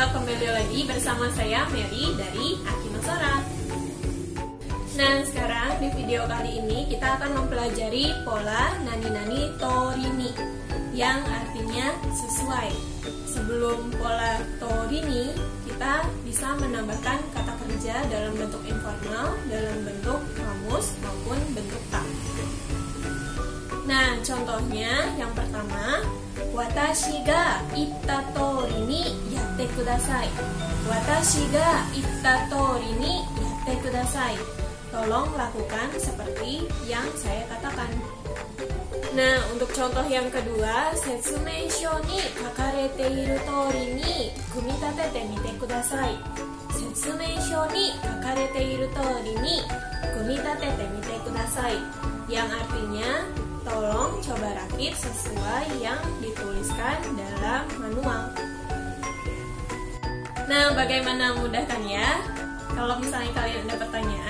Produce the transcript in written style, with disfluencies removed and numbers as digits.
kembali lagi bersama saya Mary dari Akinosora. Nah, sekarang di video kali ini kita akan mempelajari pola nani-nani torini yang artinya sesuai. Sebelum pola torini, kita bisa menambahkan kata kerja dalam bentuk informal, dalam bentuk kamus maupun bentuk tak. Nah, contohnya yang pertama, watashi ga itta tori ni yatte kudasai. Watashi ga itta tori ni yatte kudasai. Tolong lakukan seperti yang saya katakan. Nah, untuk contoh yang kedua, setsumei shou ni kakarete iru tori ni kumitatete mite kudasai. Setsumei shou ni kakarete iru tori ni kumitatete mite kudasai. Yang artinya, tolong coba rakit sesuai yang dituliskan dalam manual. Nah, bagaimana mudah kan ya? Kalau misalnya kalian ada pertanyaan,